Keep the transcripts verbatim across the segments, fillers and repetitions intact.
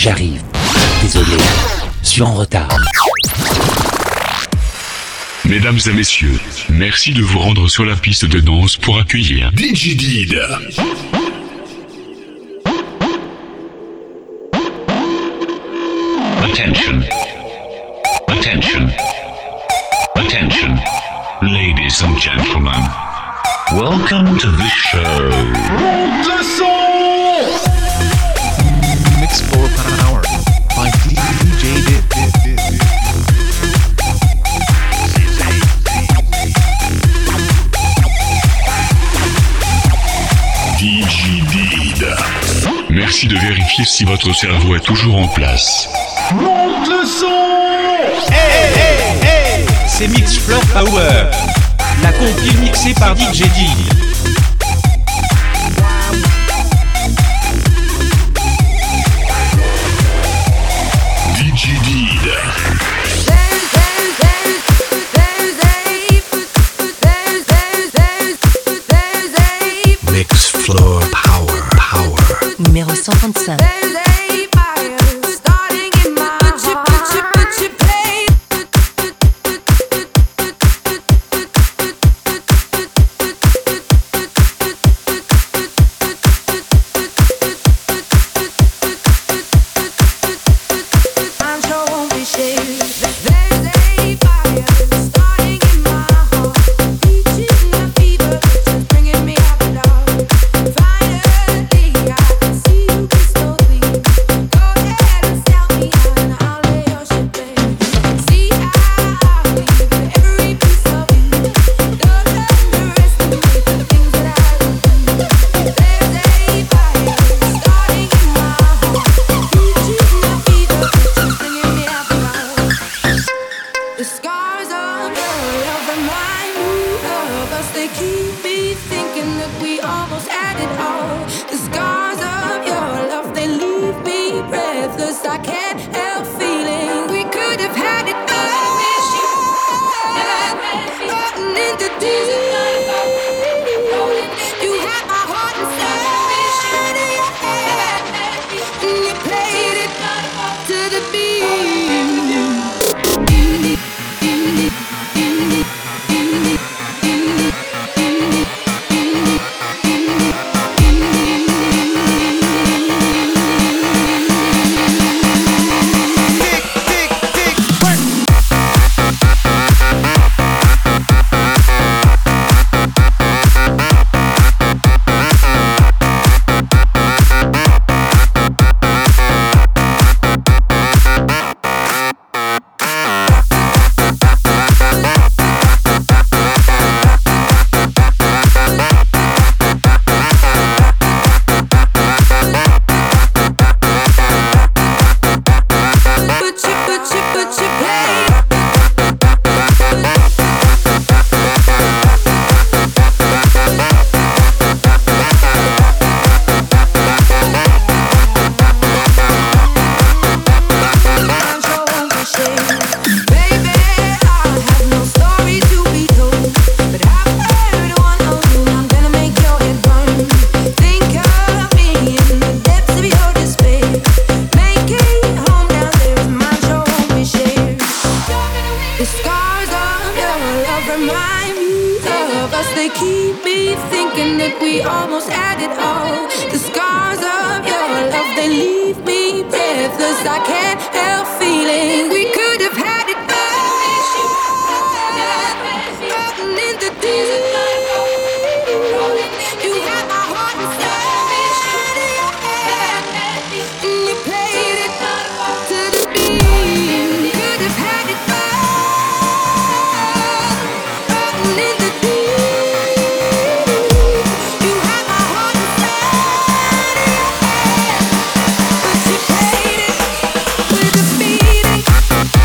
J'arrive. Désolé, je suis en retard. Mesdames et messieurs, merci de vous rendre sur la piste de danse pour accueillir Digidid. Attention. Attention. Attention. Ladies and gentlemen. Welcome to the show. Le son. Mix for Power by D J Did. Digidid. Merci de vérifier si votre cerveau est toujours en place. Monte le son. Hey, hey, hey, c'est Mix Floor Power, la compile mixée par D J Did. Digidid. Mix Floor Power, Power. Numéro cent trente-cinq. With a beating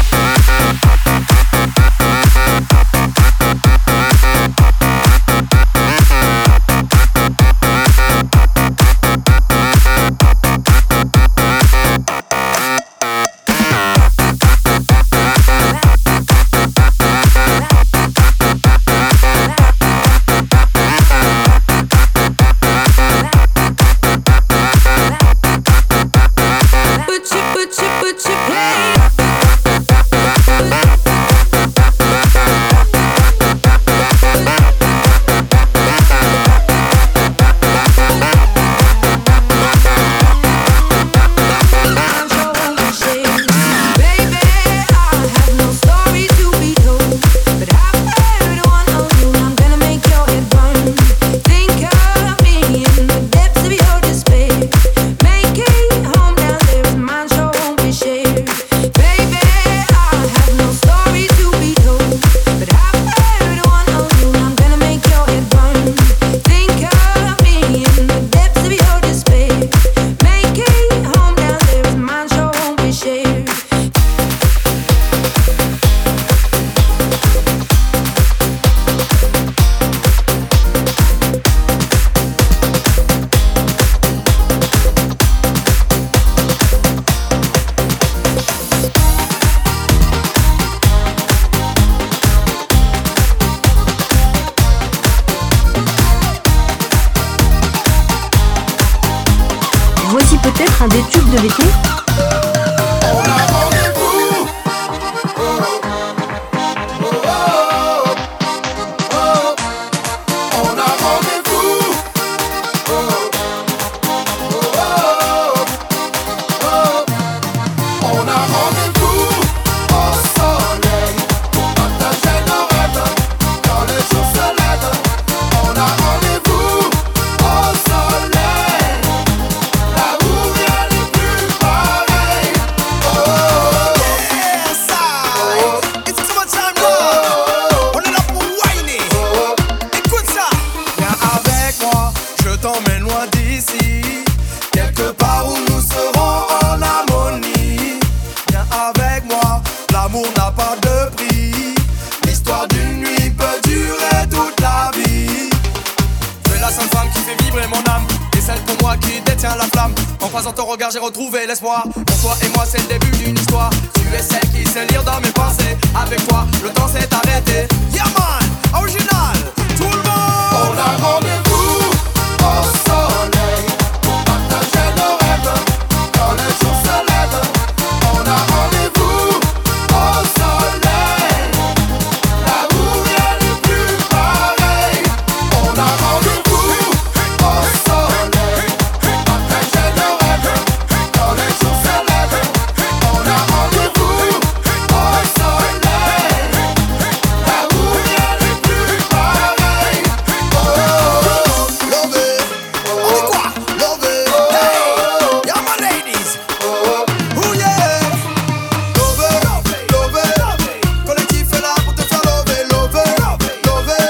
plus de béton. J'ai retrouvé l'espoir. Pour toi et moi c'est le début d'une histoire. Tu es celle qui sait lire dans mes pensées. Avec toi le temps s'est arrêté. Yeah man, original, tout le monde. On a rendez-vous au soleil pour partager nos rêves. Quand le jour se lève, on a rendez-vous au soleil. Là où rien n'est plus pareil. On a rendez-vous au soleil pour partager nos rêves. Quand les jours se lèvent, on a rendez-vous au soleil. Là où rien n'est plus pareil. Oh, love it. On dit quoi? Love it. Hey, yeah my ladies. Oh yeah. Love it, love it. Collectif est là pour te faire lover. Love it, love it.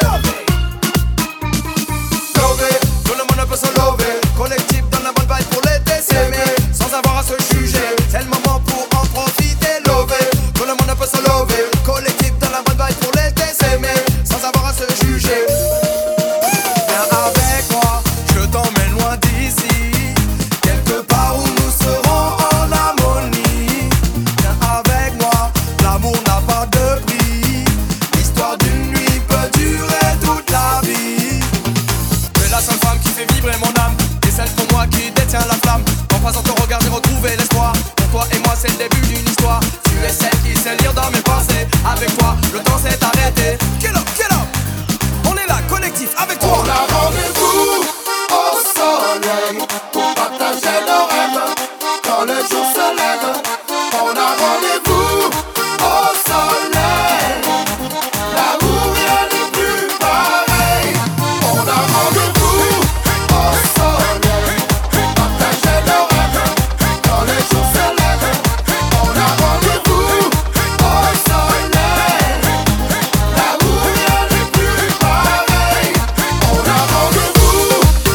Love it, tout le monde peut se lover. Collectif donne la bonne vibe pour l'été, s'aimer sans avoir à se juger. C'est le moment pour en profiter. Lover, tout le monde peut se lover. Collectif donne la bonne vibe pour l'été, s'aimer sans avoir à se juger. Viens avec moi, je t'emmène loin d'ici, quelque part où nous serons en harmonie. Viens avec moi, l'amour n'a pas de prix. L'histoire d'une nuit peut durer toute la vie. Tu es la seule femme qui fait vibrer mon âme. Et celle pour moi qui détient la flamme. En croisant ton regard j'ai retrouvé l'espoir. Pour toi et moi c'est le début d'une histoire. Tu es celle qui sait lire dans mes pensées. Avec toi le temps s'est arrêté. Get up, get up. On est là, collectif, avec toi. On a rendez-vous au soleil pour partager nos rêves. Quand le jour se lève, on a rendez-vous au soleil. Là où rien n'est plus pareil. On a rendez-vous au soleil pour partager nos rêves. Quand le jour se lève, on a rendez-vous au soleil. Là où rien n'est plus pareil. On a rendez-vous.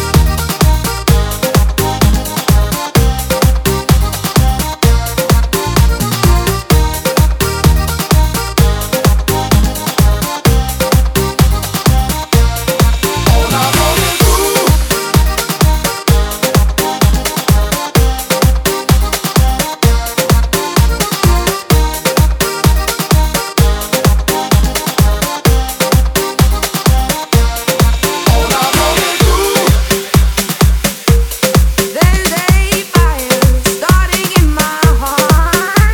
On a rendez-vous. On a rendez-vous. There's a fire starting in my heart.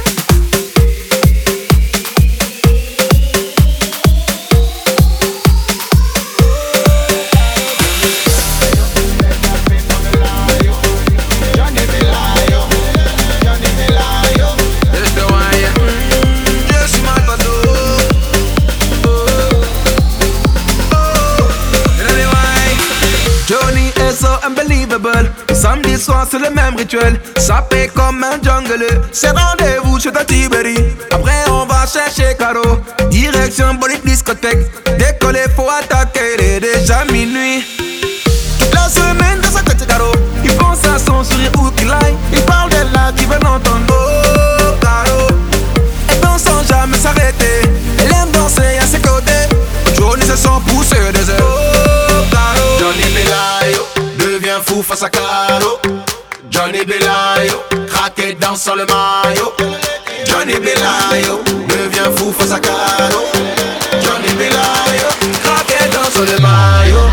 Johnny est so unbelievable. Samedi soir c'est le même rituel. Sapé comme un jungle. C'est rendez-vous chez ta Tiberi. Après on va chercher Caro. Direction bolide discothèque. Décoller faut attaquer. Il est déjà minuit. Toute la semaine dans sa tête Caro. Il pense à son sourire où qu'il aille. Il parle d'elle là qui veut l'entendre. Oh Caro. Elle danse sans jamais s'arrêter. Elle aime danser à ses côtés. Johnny se sent pousser des ailes. Oh Caro. Johnny Belayo devient fou face à Caro. Johnny Belayo craqué dans le maillot. Johnny Belayo devient fou face à Caro. Johnny Belayo craqué dans le maillot.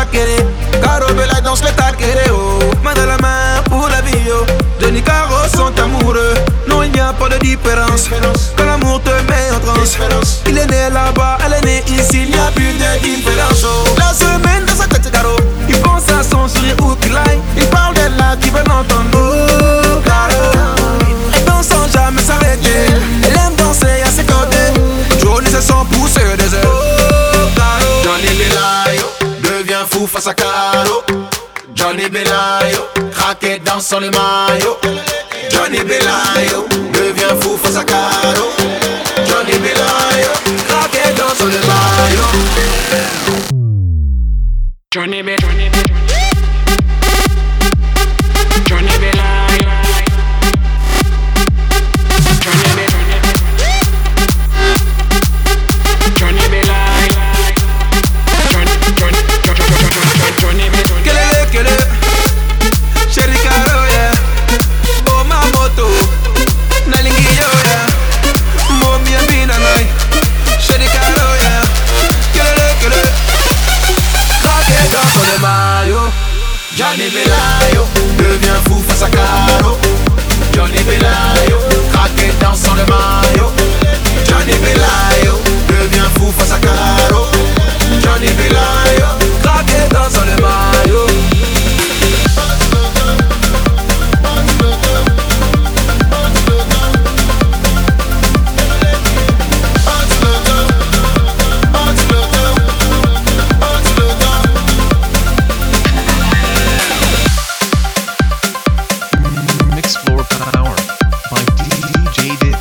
taquere. Caro Bella danse le taquere, oh. Main dans la main pour la vie, oh. Johnny Caro sont amoureux. Non, il n'y a pas de différence. Quand l'amour te met en transe. Il est né là-bas, elle est née ici. Il n'y a plus de différence, oh. La semaine dans sa tête, c'est Caro. Il pense à son sourire ou qu'il aille. Il parle d'elle là qui veut l'entendre. Oh, Caro. Elle danse sans jamais s'arrêter. Elle aime danser à ses côtés. Johnny se sent pousser des ailes. Oh, Caro. Johnny Belayo devient fou face à Caro. Johnny Belayo craqué dans son le maillot. Johnny Belayo devient fou face à Caro. Johnny Belayo craqué dans son le maillot. Johnny Belayo, Johnny Belayo, Johnny Belayo, Johnny Belayo, Johnny Johnny Johnny Belayo. Quel est quel est Chéri Caro, yeah. Oh ma moto Nalingi yo, yeah. Mo mi abina nai Chéri Caro, yeah. Quel est quel est craqué dans son maillot. Johnny Belayo devient fou face à Caro. Johnny Belayo craqué dans son maillot. Johnny Belayo devient fou face à Caro. Johnny Belayo craqué dans son maillot. Mix Floor Power by D J Did.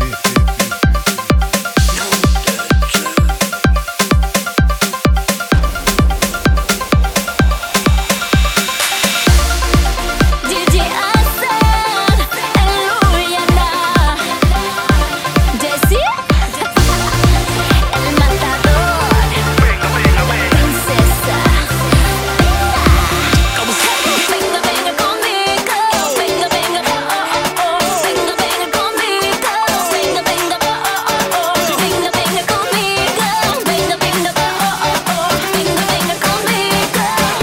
D J Hassan, Eluriana, Jessie, El Matador, Princesa. Venga, venga conmigo, venga, venga, oh, oh, oh. Venga, venga conmigo, venga, venga, oh, oh, oh. Venga, venga conmigo, venga, venga, oh, oh, oh. Venga, venga conmigo.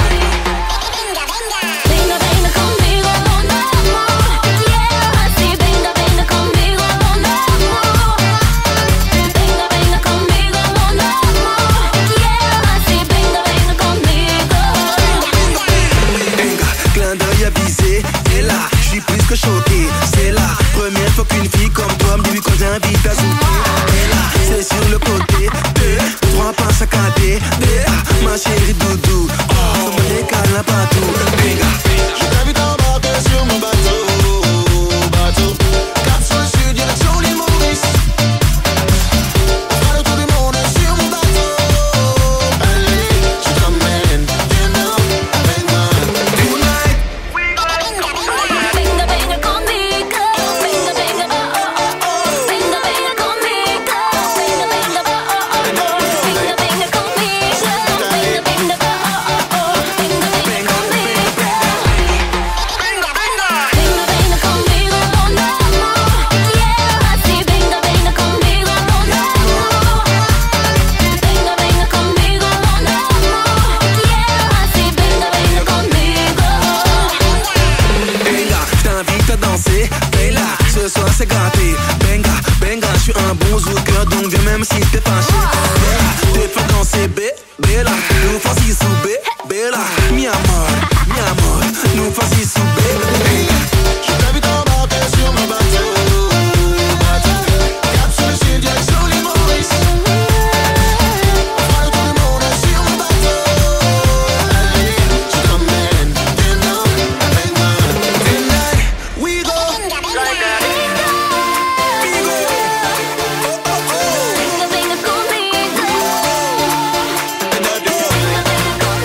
Venga, venga conmigo, mon amor, yeah, así venga, venga conmigo, mon amor. Venga, venga conmigo, mon amor, yeah, así venga, venga conmigo. Venga, clin d'œil avisé, et là, je suis plus que choqué. C'est la première fois qu'une fille comme toi me dit quand j'invite à souper. Et là, c'est sur le côté, deux, trois pas saccadés. Ah, ma chérie doudou, oh, ça me décale un partout. Venga, je t'invite à embarquer sur mon bateau, bateau. Cap sur le sud, direction l'île Maurice. On fera le tour du monde sur mon bateau. Allez, je t'emmène, viens now, avec moi. Tonight. Venga, venga conmigo, venga, venga, oh, oh, oh. Venga, venga conmigo, venga, venga, oh, oh, oh. Venga, venga conmigo, venga, venga, oh, oh, oh. Venga, venga conmigo. Venga, venga conmigo, mon amor, yeah, así venga, venga conmigo, mon amor. Venga, venga conmigo, mon amor, yeah, así venga, venga conmigo. Venga, je t'invite à danser. Bella, ce soir c'est gâté. Benga, benga, je suis un bon zouker, donc viens même si t'es fâché. Bella, je te fais danser, bé, Bella. Nous faisons sous bé, Bella. Mi amor, mi amor, nous faisons sous bé. Venga, je t'invite à embarquer sur mon bateau, bateau. Cap sur le sud, direction l'île Maurice. On fera le tour du monde sur mon bateau. Allez, je t'emmène, viens now, avec moi. Tonight, we go. Like that. We go. Oh, oh, oh. Venga, venga conmigo. Venga, venga conmigo.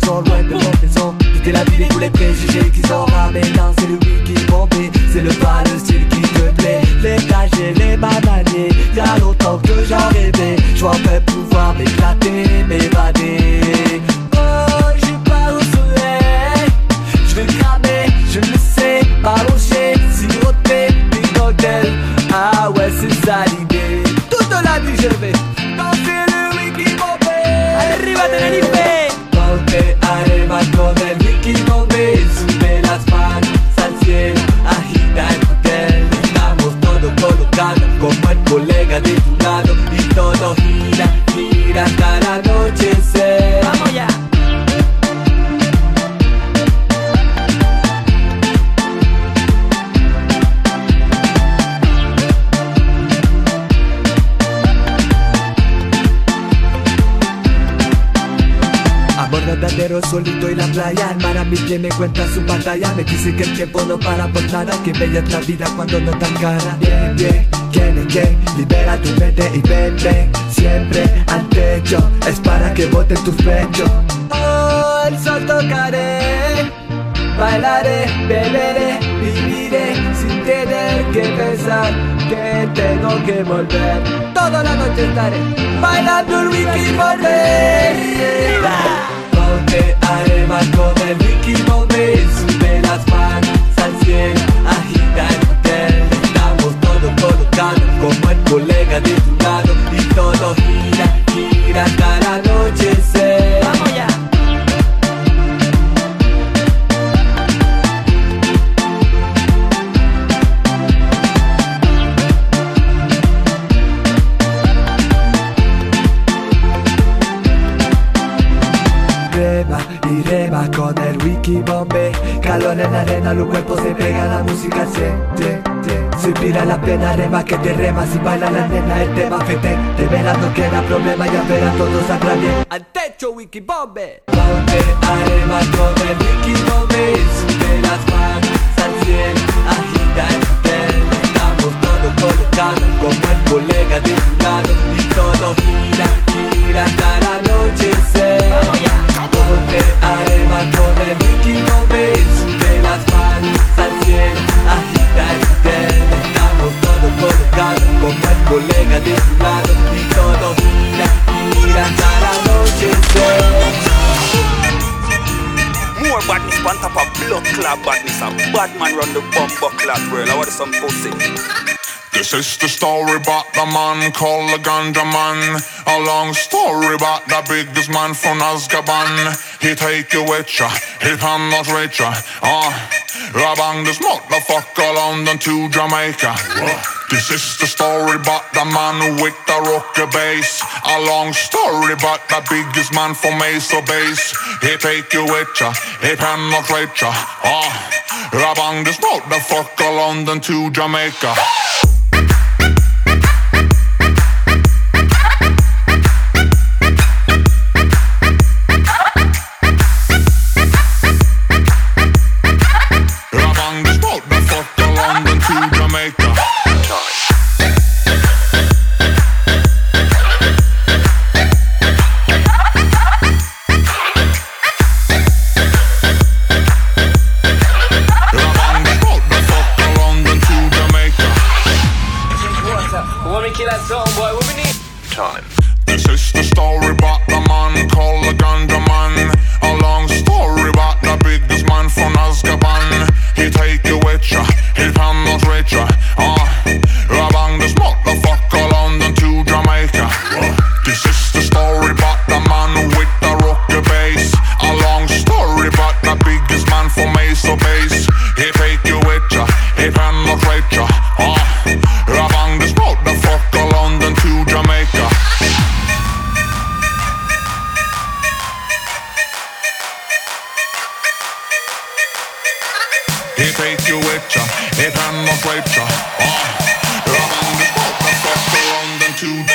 sont loin de mon maison. Quitter la ville et tous les préjugés qui sont ramenants. C'est le wiki bombé, c'est le pas, le style qui te plaît. Les cachets, les bananiers, y'a longtemps que j'en rêvais. J'vois un peu pouvoir m'éclater, m'évader. Oh, j'ai pas au soleil, j'vais cramer, je le sais. Balocher, siroter, des cocktails. Ah ouais, c'est ça l'idée. Toute la nuit je vais danser le wiki bombé. Arriba Tenerife. Ponte arriba con el wiki bombé. Sube las manos al cielo, agita el hotel. Estamos todos colocados como el colega de tu lado. Y todo gira, gira hasta el anochecer. Vamos ya. Verdadero solito y la playa, el mar a mi pie me cuenta su batalla. Me dice que el tiempo no para por nada, que bella es la vida cuando no tan cara. Bien, bien, quién que libera tu mente y ven, ven siempre al techo, es para que boten tus pechos. Oh, el sol tocaré, bailaré, beberé, viviré sin tener que pensar que tengo que volver. Toda la noche estaré bailando el wiki bombé. Ponte arriba con el wiki bombé. Sube las manos al cielo, agita el hotel. Estamos todos colocados como el colega de tu lado. Y todo gira, gira hasta el anochecer. Vamos ya. Reba y reba con el wiki bombé. Calor en la arena, los cuerpos se pegan, la música se te, te. Si pira la pena, rema que te rema. Si baila la nena, el tema fete. Te verás no queda problema, ya verás todo saldrá bien. Al techo wiki bombé. Ponte arriba con el wiki bombé. Sube las manos al cielo, agita el hotel. Estamos todos colocados como el colega de tu lado. Y todo gira, gira hasta el anochecer. Vamos ya. Ponte arriba con el wiki bombé. Sube las manos al cielo, agita el hotel. Estamos todos colocados como el colega de tu lado. Y todo gira, gira hasta el anochecer. More badness on top of blood clot badness. A bad man run the bumper clot world. I want some pussy. This is the story about the man called the Ganja Man. A long story about the biggest man from Azkaban. He take you with ya, he penetrate ya. Ah, uh, bang this motherfucker London to Jamaica. This is the story about the man with the rocker bass. A long story about the biggest man from Mesa Base. He take you with ya, he penetrate ya. Ah, uh, bang this motherfucker London to Jamaica. This is the story about the man called the Ganja Man. A long story about the biggest man from Azkaban. He take you with ya, he penetrate ya. Ah, uh, bang this motherfucker London to Jamaica. This is the story about the man with the rocker bass. A long story about the biggest man from Mesa Base. He take you with ya, he penetrate ya. Ah, uh, bang this motherfucker London to Jamaica. He take you with ya, he penetrate ya. Ah, bang this motherfucker London to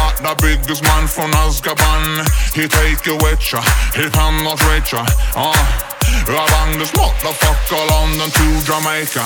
about the biggest man from Azkaban. He take you with ya, he penetrate ya. Uh, I bang this motherfucker London to Jamaica.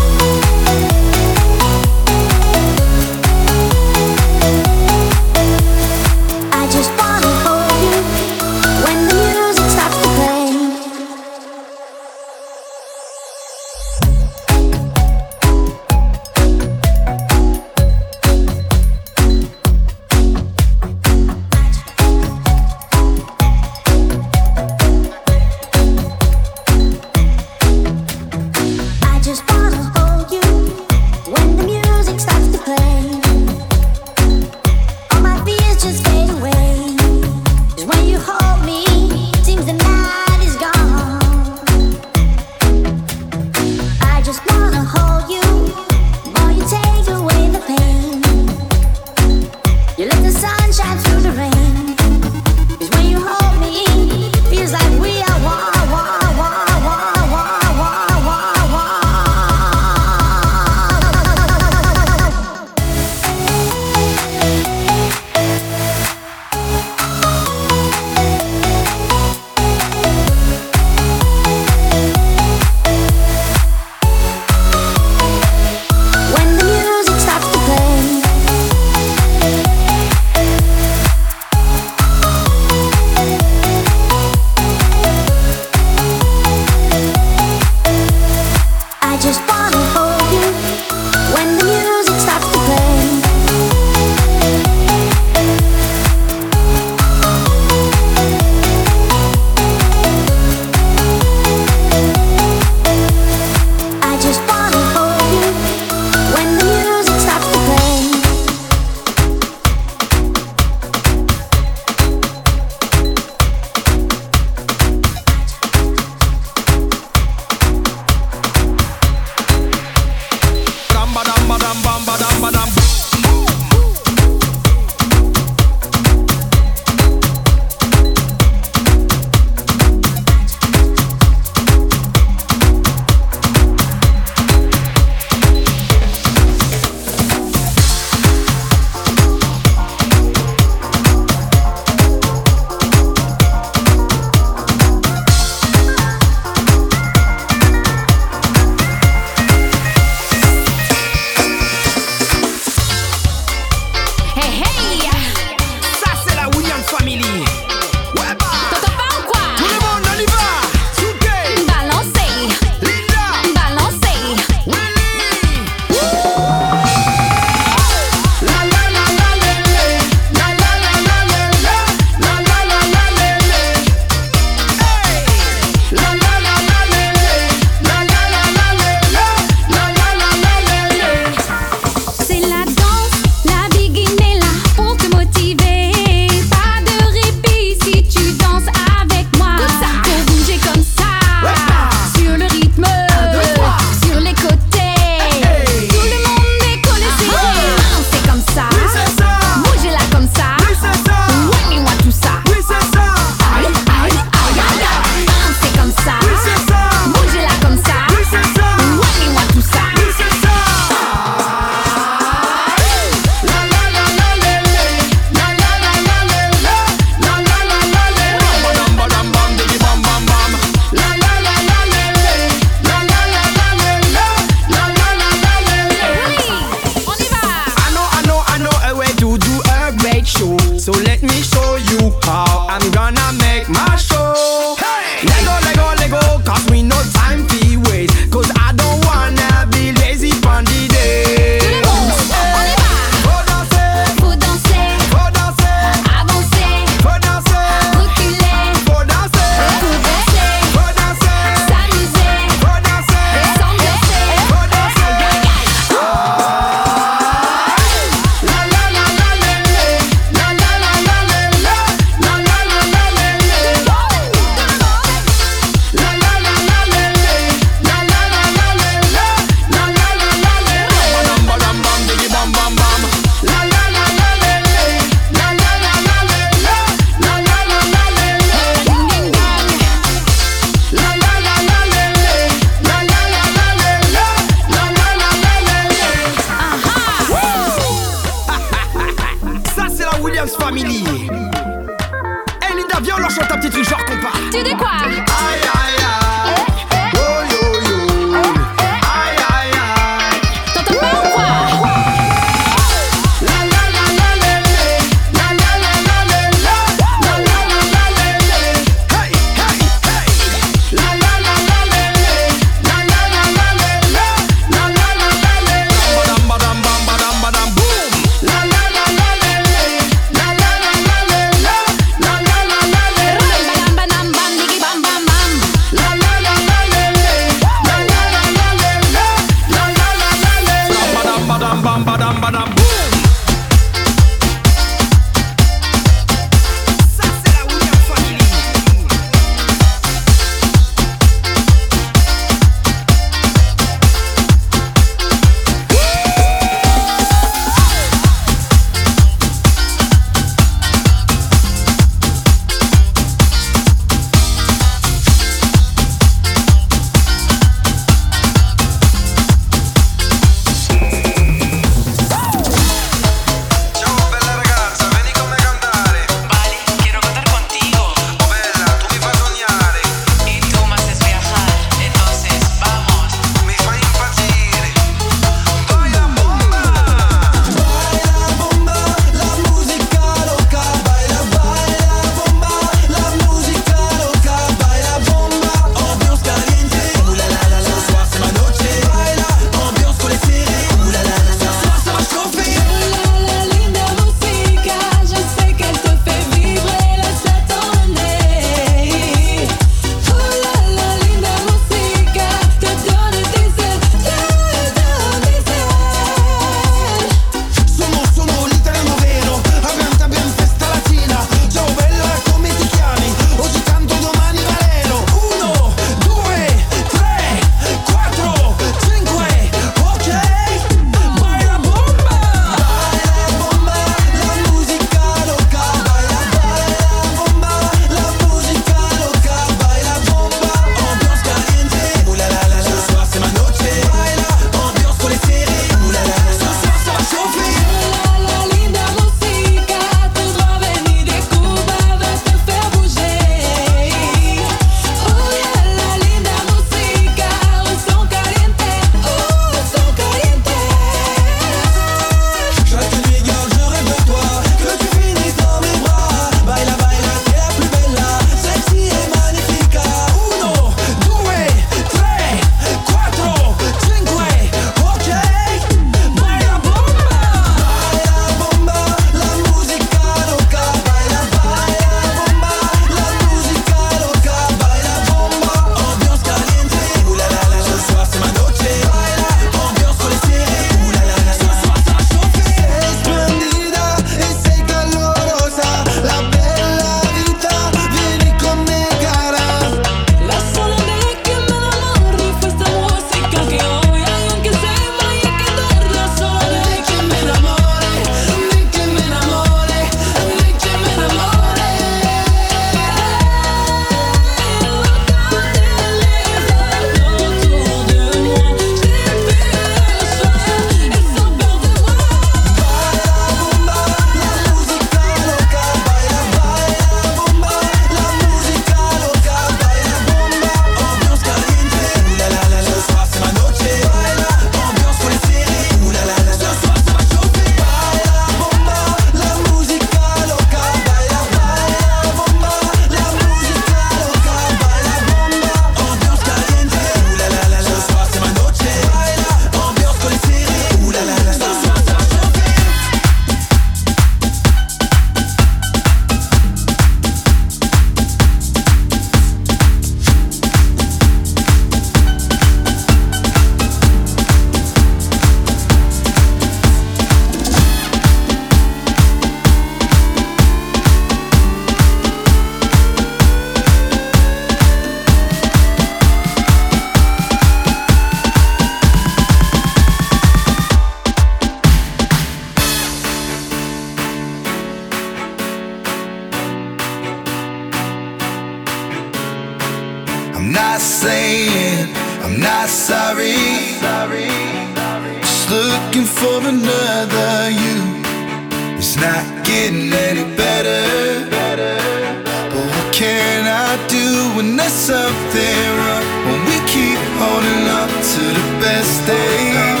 not saying I'm not sorry. Just looking for another you. It's not getting any better. But what can I do when there's something wrong? When we keep holding up to the best days.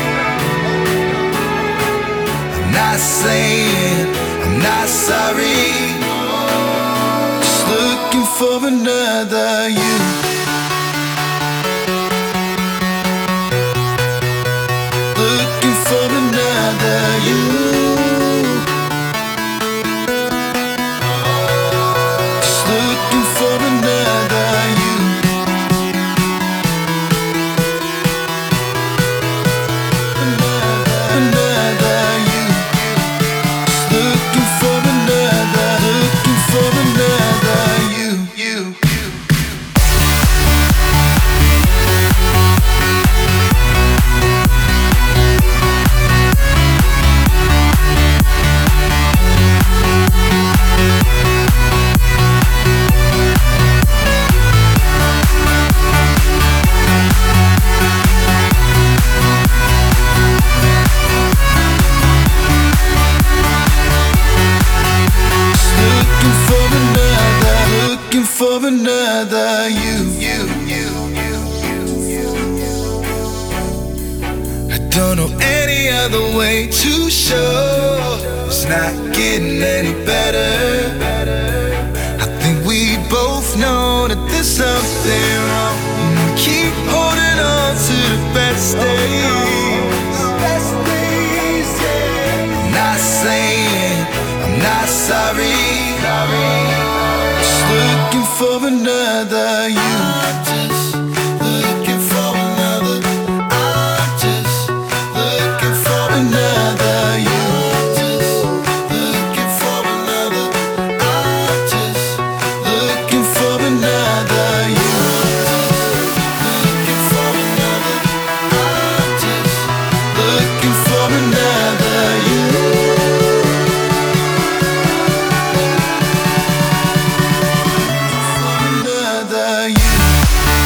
I'm not saying I'm not sorry. Just looking for another you. Looking for another you. Just looking for another you. Another, another you. Just looking for another, looking for another you, you, you. Looking for another, looking for another you, you, you, you, you, you, you. I don't know any other way to show it's not getting any better. I think we both know that there's something wrong. We keep holding on to the best days. Best days, yeah. I'm not saying I'm not sorry. Just looking for another you. Just looking for another. I'm just looking for another you. Just looking for another. I'm just looking for another you. Looking for another. I'm just looking for another you. Another you.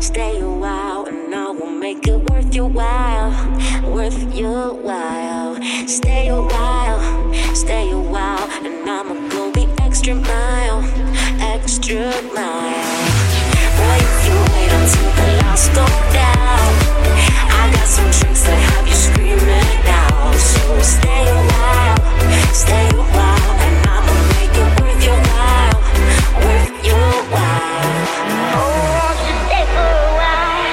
Stay a while and I will make it worth your while, worth your while. Stay a while, stay a while, and I'ma go the extra mile, extra mile. Boy, if you wait until the lights go down, I got some tricks that have you screaming out. So stay a while, stay a while, and I'ma make it worth your while, worth your while. Oh, stay for a while.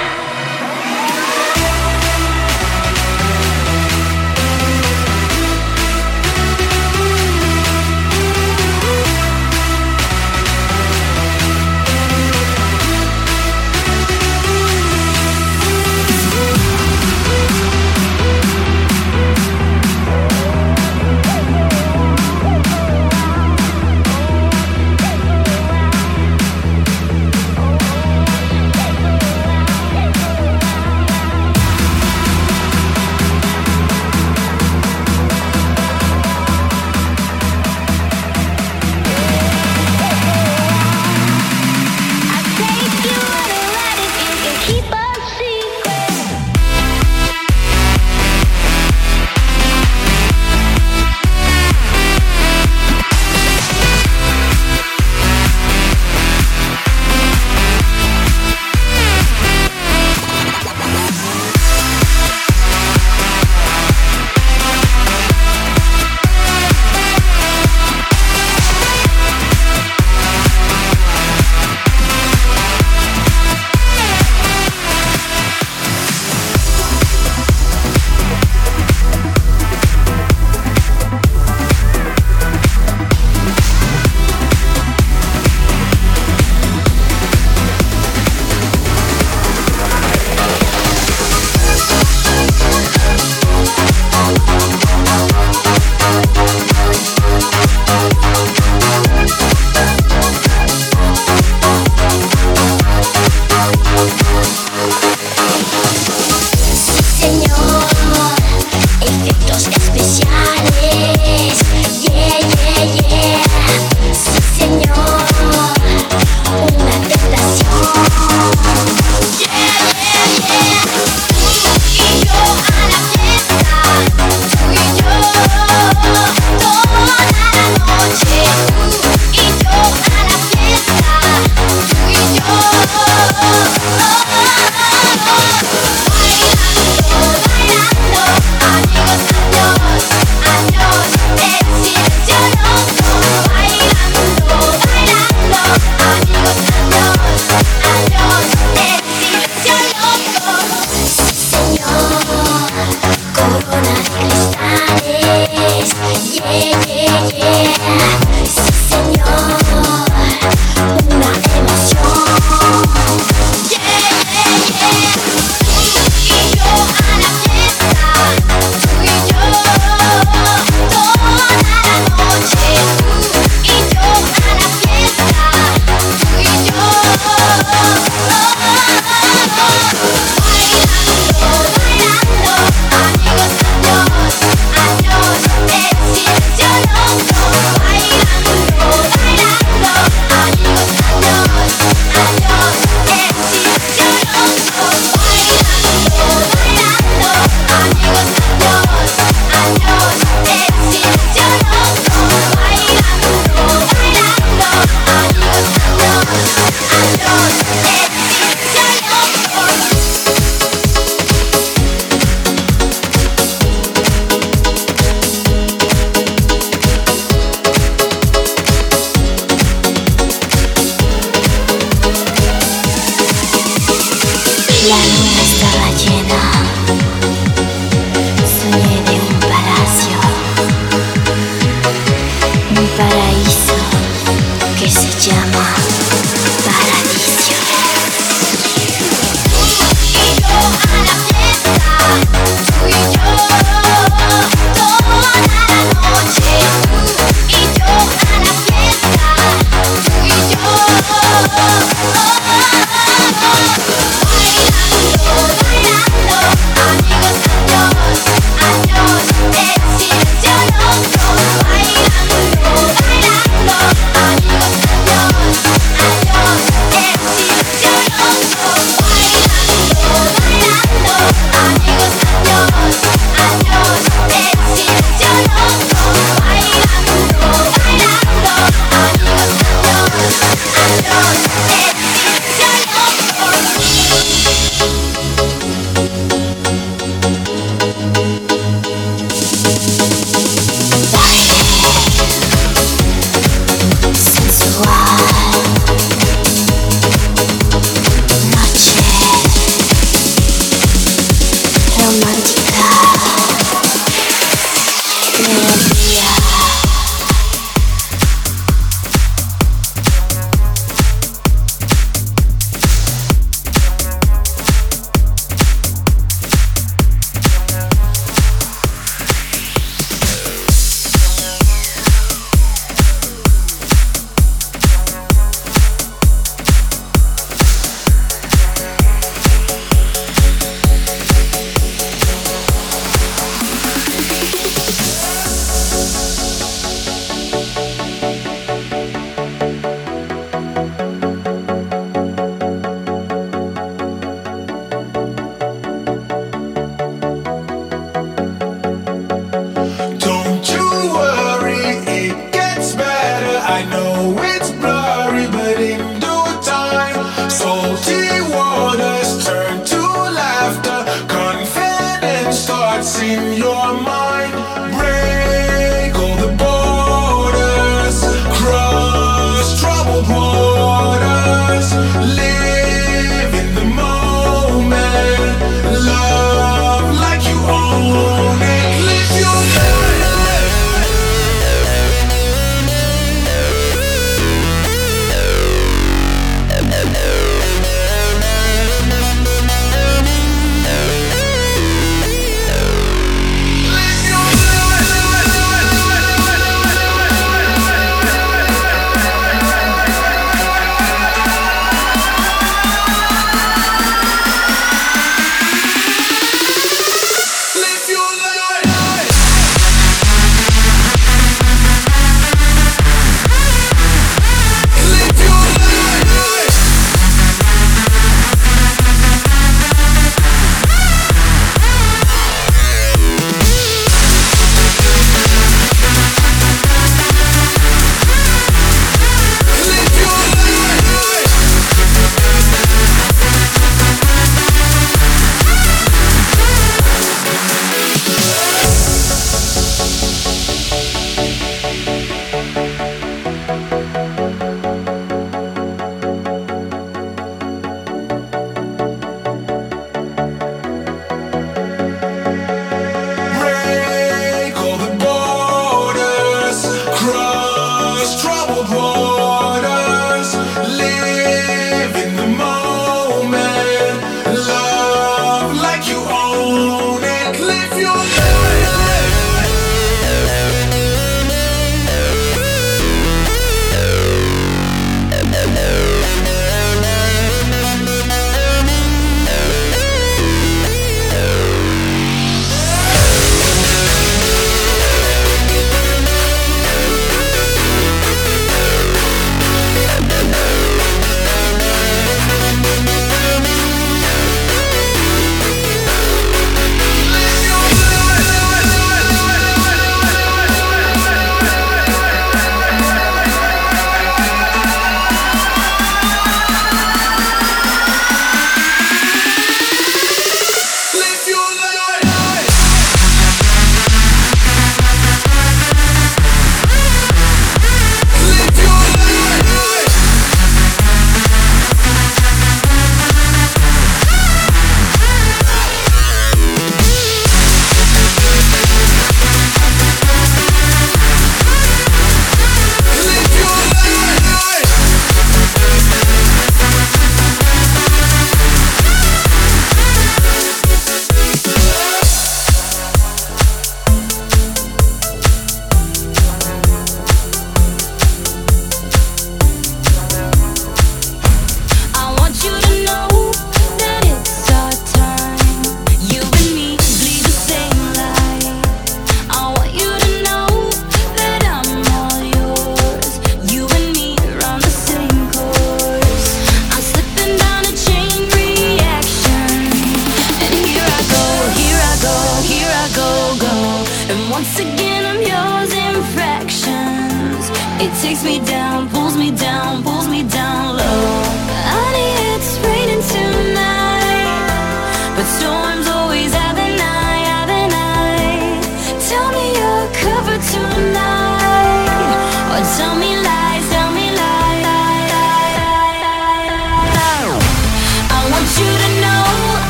Bailando,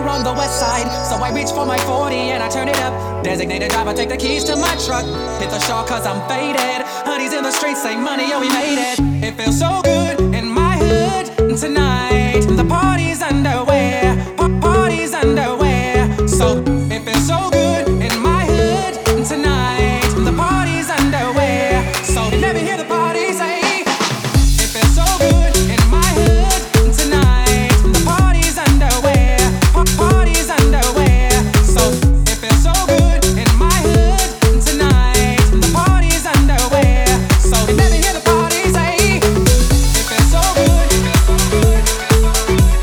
here on the west side. So I reach for my forty and I turn it up. Designated driver, take the keys to my truck. Hit the shore cause I'm faded. Honey's in the streets, say money, oh we made it. It feels so good in my hood tonight. The party's underway, pa- party's underway. So it feels so good in my hood tonight. The party's underway. So you never hear the party say. It feels so good in my hood tonight. The party's underway, pa- party's underway. So it feels so good in my hood tonight. The party's underway. So you never hear the party say. It feels so good. It feels so good. It feels so good.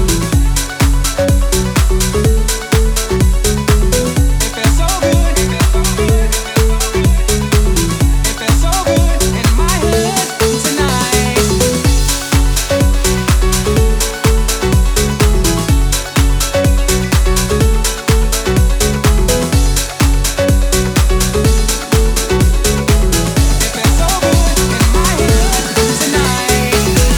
It feels so good. It feels so good. It feels so good in my hood tonight. It feels so good in my hood tonight.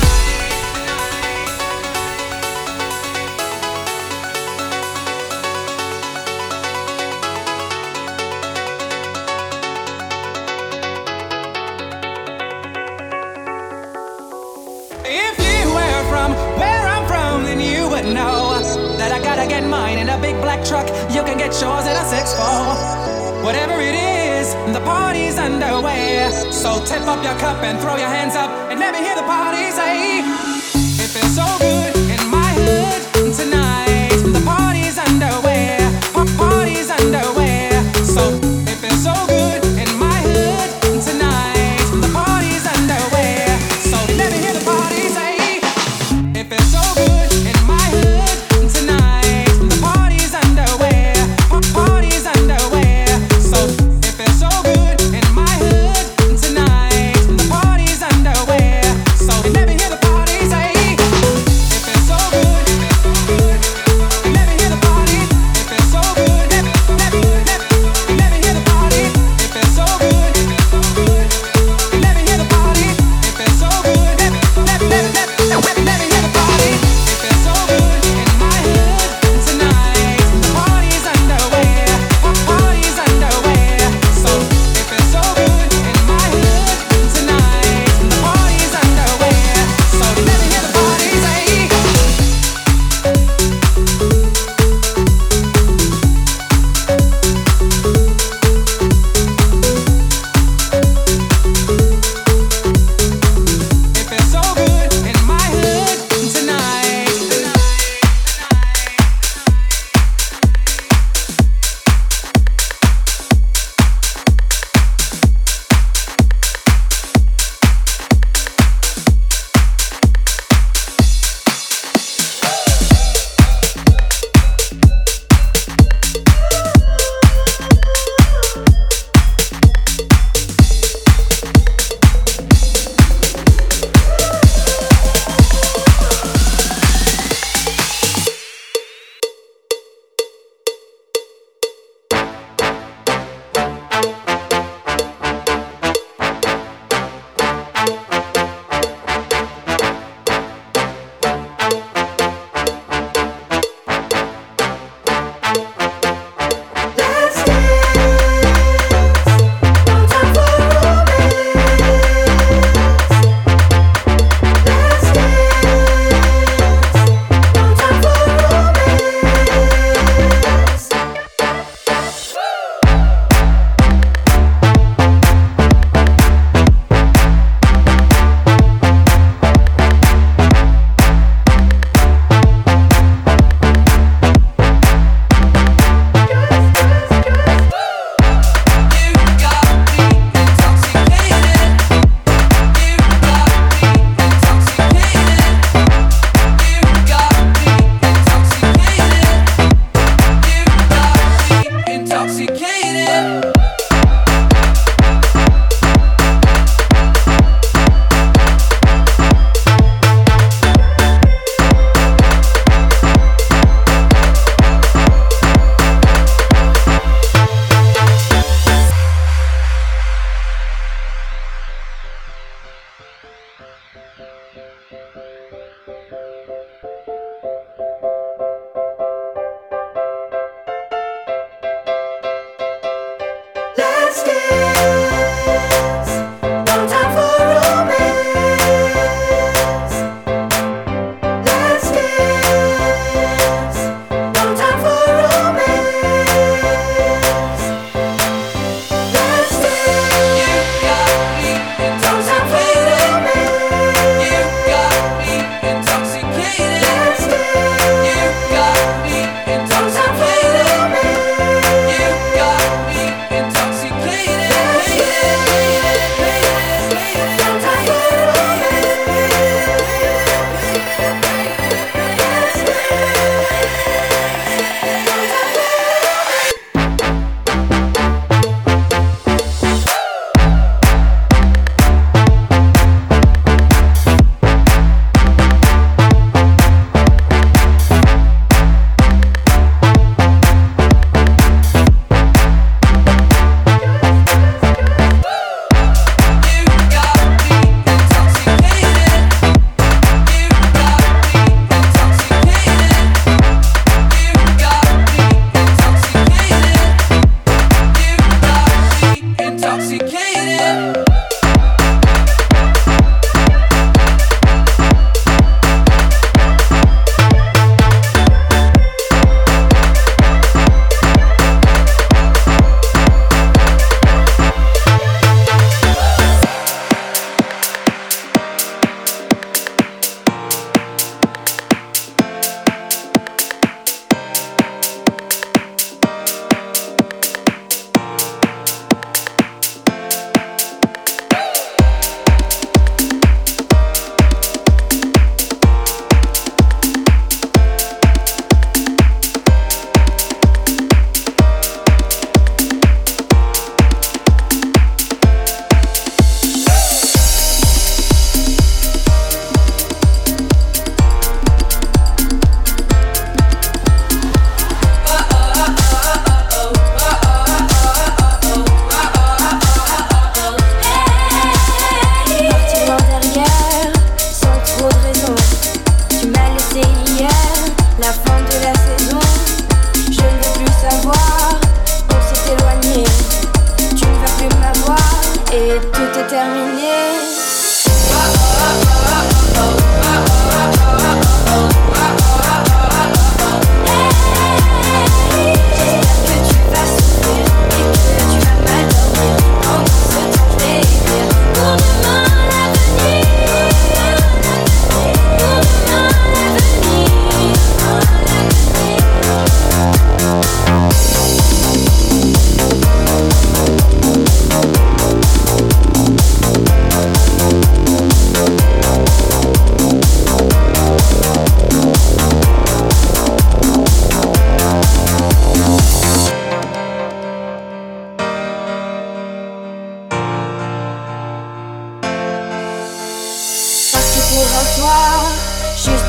If you were from where I'm from, then you would know that I gotta get mine in a big black truck. You can get yours in a six four. Whatever it is, the party's underway. So tip up your cup and throw your hands up and let me hear the party say. It feels so good in my hood tonight. The party's underway. Pa- Party's underway. So it feels so good in my hood tonight. The party's underway. So let me hear the party say. It feels so good in my hood tonight. The party's underway. Pa- Party's underway. So it feels so good in my hood tonight. The party's underway. So let me hear the party say. It feels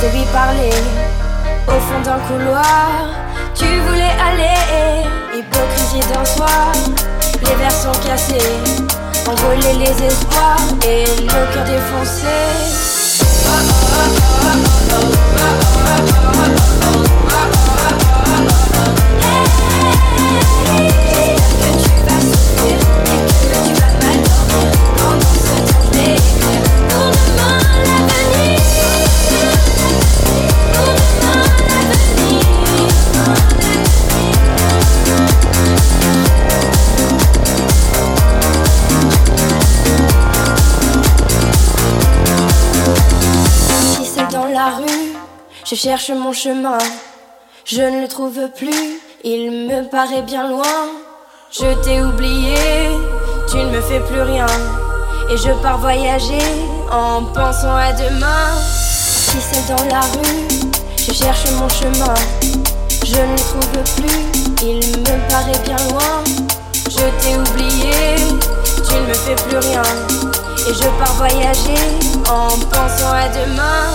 de lui parler. Au fond d'un couloir, tu voulais aller. Hypocrisie d'un soir, les verres sont cassés. Envoler les espoirs et le cœur défoncé. Je cherche mon chemin, je ne le trouve plus, il me paraît bien loin. Je t'ai oublié, tu ne me fais plus rien, et je pars voyager en pensant à demain. Si c'est dans la rue, je cherche mon chemin, je ne le trouve plus, il me paraît bien loin. Je t'ai oublié, tu ne me fais plus rien, et je pars voyager en pensant à demain.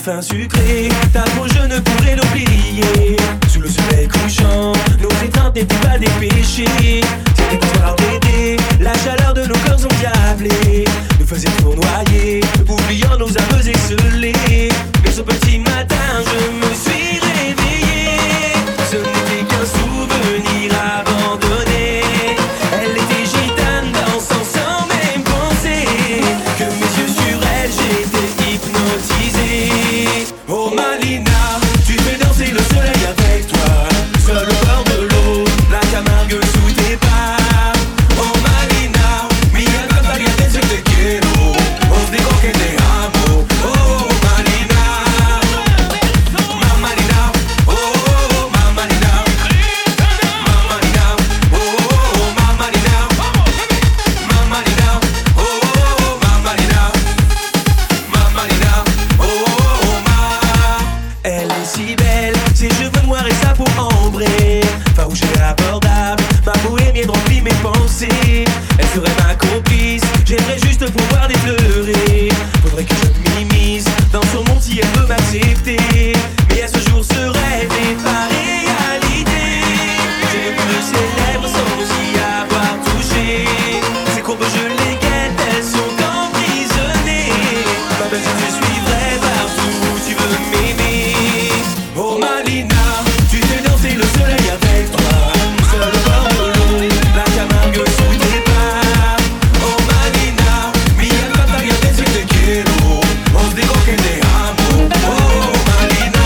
parfum sucré, ta peau je ne pourrais l'oublier. Sous le soleil couchant, nos étreintes n'étaient pas des péchés. C'était histoire d'été, la chaleur de nos corps endiablés nous faisait tournoyer, oubliant nos âmes excelées. Mais ce petit matin je me suis réveillé, ce n'était qu'un souvenir abandonné. Elle était gitane dansant sans même penser que mes yeux sur elle j'étais hypnotisé. Oh Malina, tu fais danser le soleil avec toi, seul au bord de l'eau, la Camargue sous tes pas. Oh Malina, mi alma caliente si te quiero, os digo que te amo. Oh Malina, Mamalina, oh Mamalina, Mamalina, oh Mamalina, Mamalina, oh Mamalina, Mamalina, oh Ma. Elle est si belle, ses cheveux noirs et sa peau ambrée, farouche et abordable, ma bohémienne remplit mes pensées. Elle serait ma complice, j'aimerais juste pouvoir dépleurer. Faudrait que je m'immisce dans son monde si elle veut m'accepter. Mais à ce jour ce rêve n'est pas réalité. J'ai vu de ses lèvres sans y avoir touché. Ses courbes je les guette, elles sont emprisonnées. Ma belle je te suivrai partout où tu veux m'aimer. Oh Malina, tu fais danser le soleil avec toi, seul au bord de l'eau, la Camargue sous tes pas. Oh Malina, mi alma caliente si te quiero, os digo que te amo. Oh Malina,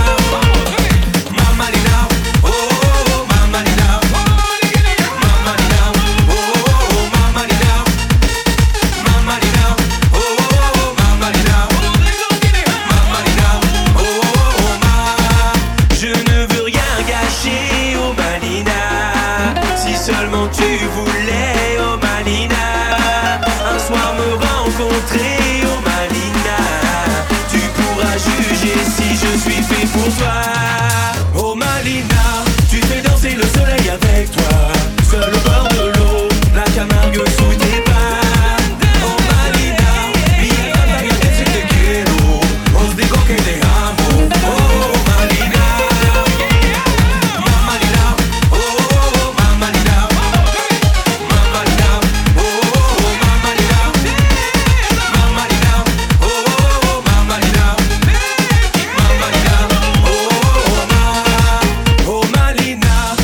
Mamalina, oh Mamalina, Mamalina, oh Mamalina, Mamalina, oh Mamalina, Mamalina, oh Ma. Je ne veux rien gâcher, oh Malina, si seulement tu voulais, oh Malina, un soir me rencontrer, oh Malina, tu pourras juger si je suis fait pour toi. Oh Malina, tu fais danser le soleil avec toi, seul au bord de l'eau, la Camargue sous tes pas. Oh Malina, mi alma caliente si te quiero, os digo que te amo. Oh Malina, Mamalina, oh Mamalina, Mamalina, oh Mamalina, Mamalina, oh Mamalina, Mamalina, oh Ma. Oh Malina.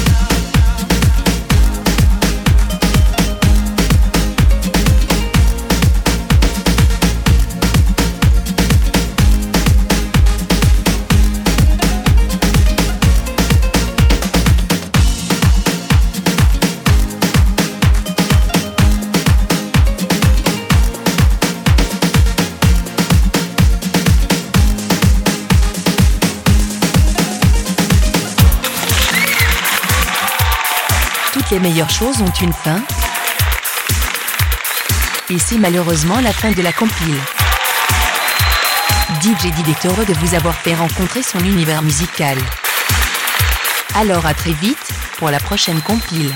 Toutes les meilleures choses ont une fin. Et c'est malheureusement la fin de la compile. D J Did est heureux de vous avoir fait rencontrer son univers musical. Alors à très vite pour la prochaine compile.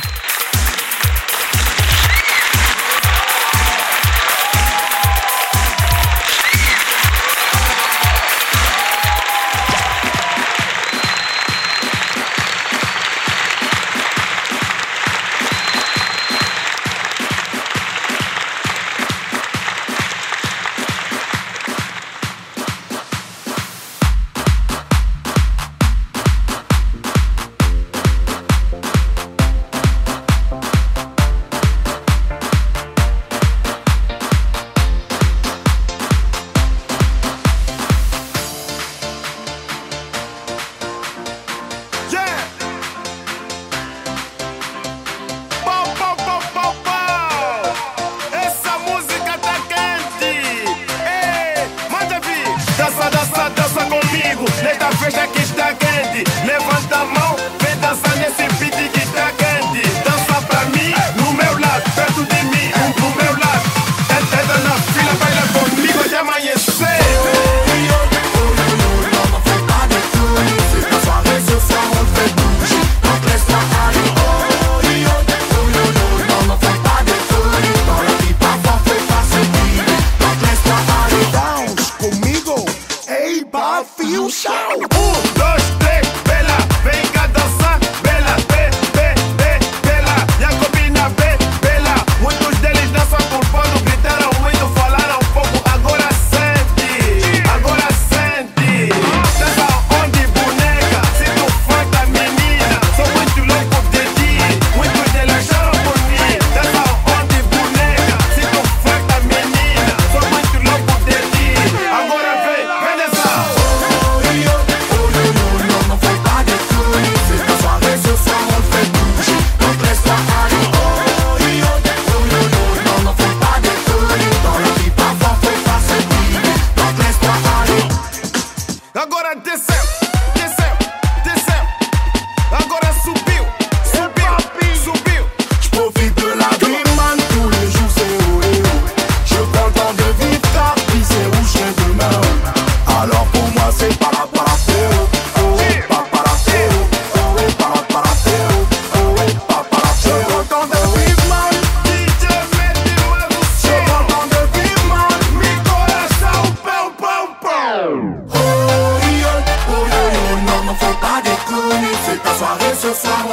Conmigo, ey, pa.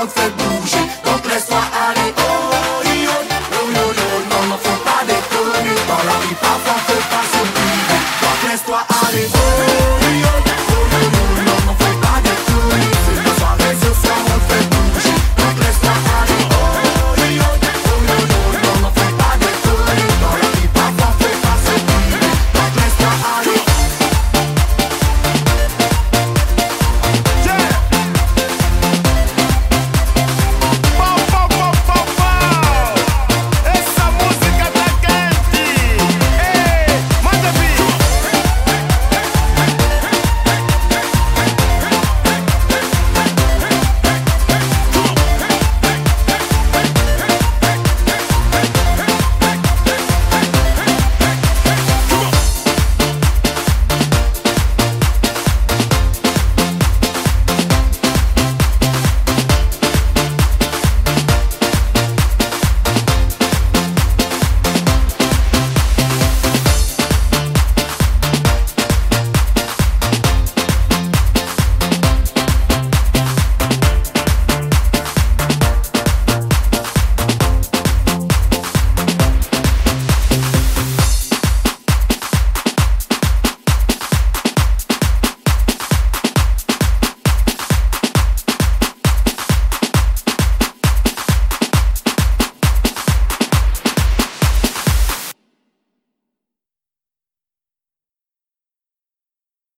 fait